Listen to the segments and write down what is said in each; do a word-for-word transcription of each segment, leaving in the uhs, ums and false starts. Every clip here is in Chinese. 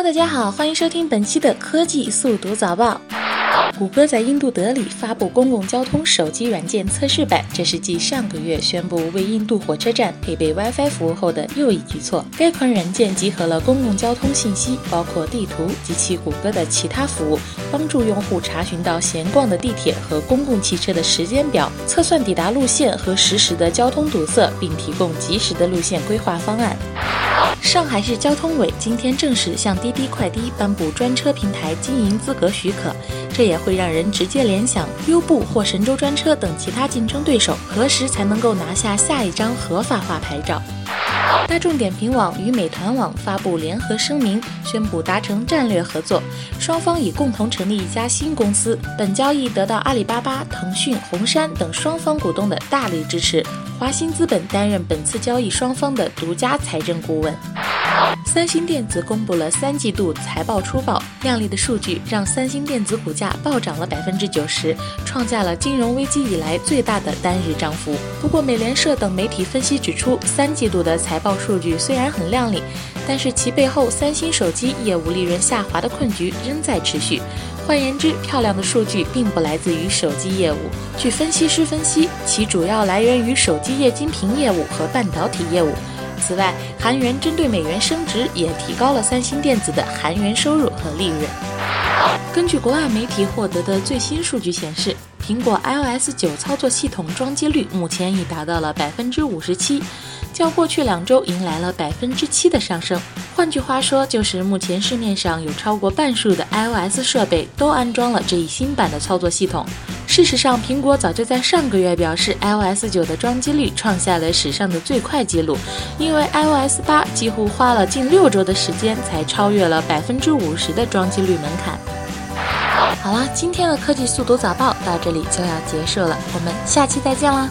Hello， 大家好，欢迎收听本期的科技速读早报。谷歌在印度德里发布公共交通手机软件测试版，这是继上个月宣布为印度火车站配备 WiFi 服务后的又一举措。该款软件集合了公共交通信息，包括地图及其谷歌的其他服务，帮助用户查询到闲逛的地铁和公共汽车的时间表，测算抵达路线和实时的交通堵塞，并提供及时的路线规划方案。上海市交通委今天正式向滴滴快滴颁布专车平台经营资格许可，这也会让人直接联想优步或神州专车等其他竞争对手何时才能够拿下下一张合法化牌照。大众点评网与美团网发布联合声明，宣布达成战略合作，双方已共同成立一家新公司。本交易得到阿里巴巴、腾讯、红杉等双方股东的大力支持，华兴资本担任本次交易双方的独家财政顾问。三星电子公布了三季度财报初报，亮丽的数据让三星电子股价暴涨了 百分之九十， 创下了金融危机以来最大的单日涨幅。不过美联社等媒体分析指出，三季度的财报数据虽然很亮丽，但是其背后三星手机业务利润下滑的困局仍在持续。换言之，漂亮的数据并不来自于手机业务。据分析师分析，其主要来源于手机液晶屏业务和半导体业务。此外，韩元针对美元升值也提高了三星电子的韩元收入和利润。根据国外媒体获得的最新数据显示，苹果 i O S 九 操作系统装机率目前已达到了 百分之五十七， 较过去两周迎来了 百分之七 的上升。换句话说，就是目前市面上有超过半数的 i O S 设备都安装了这一新版的操作系统。事实上，苹果早就在上个月表示 i O S 九 的装机率创下了史上的最快纪录，因为 i O S 八 几乎花了近六周的时间才超越了 百分之五十 的装机率门槛。好了，今天的科技速读早报到这里就要结束了，我们下期再见啦。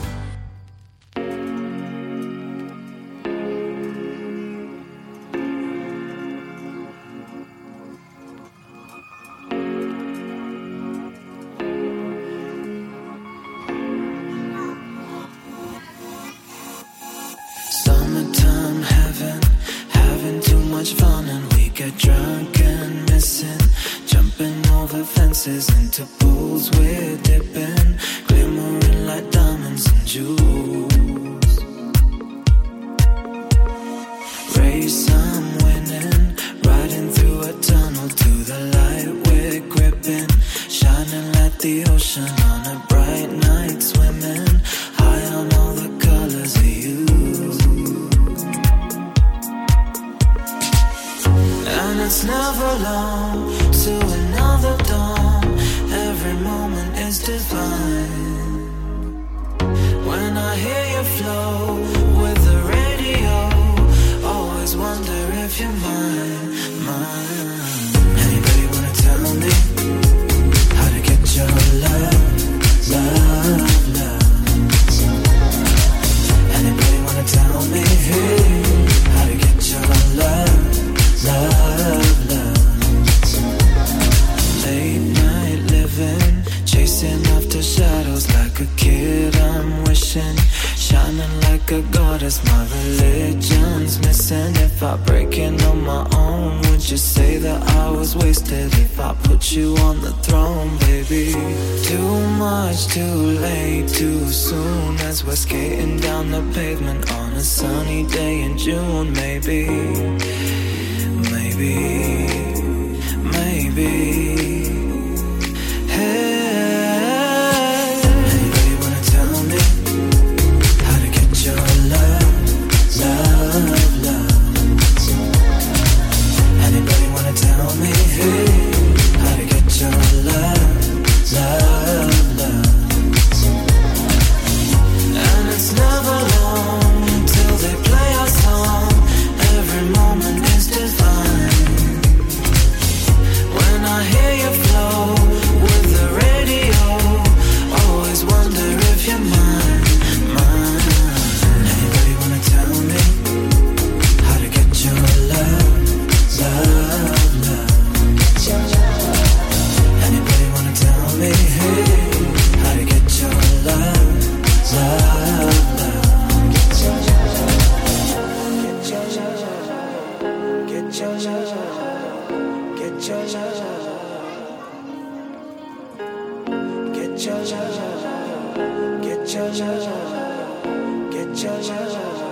Summertime heaven, having too much fun and we get drunk and missing, jumping over fences into pools we're dipping, glimmering like diamonds and jewels. Race I'm winning, riding through a tunnel to the light we're gripping, shining like the ocean on a bright night, swimming high on all the colors of you. And it's never long to another dawn, every moment is divine. When I hear you flow with the radio, always wonder if you're mine, mine. Anybody wanna tell me how to get your love, love, love? Anybody wanna tell me how to get your love, love, love? Late night living, chasing after shadows like a kid I'm wishing, shining like a goddess, my religion's missing. If I break it on my own, would you say that I was wasted? If I put you on the throne, baby. Too much, too late, too soon, as we're skating down the pavement on a sunny day in June. Maybe, maybe, maybe. Hey, anybody wanna tell me how to get your love, love, love? Anybody wanna tell me how to get your love, love, love? And it's never long till they play our song, every moment is divine. Get your love, get your love, get your love.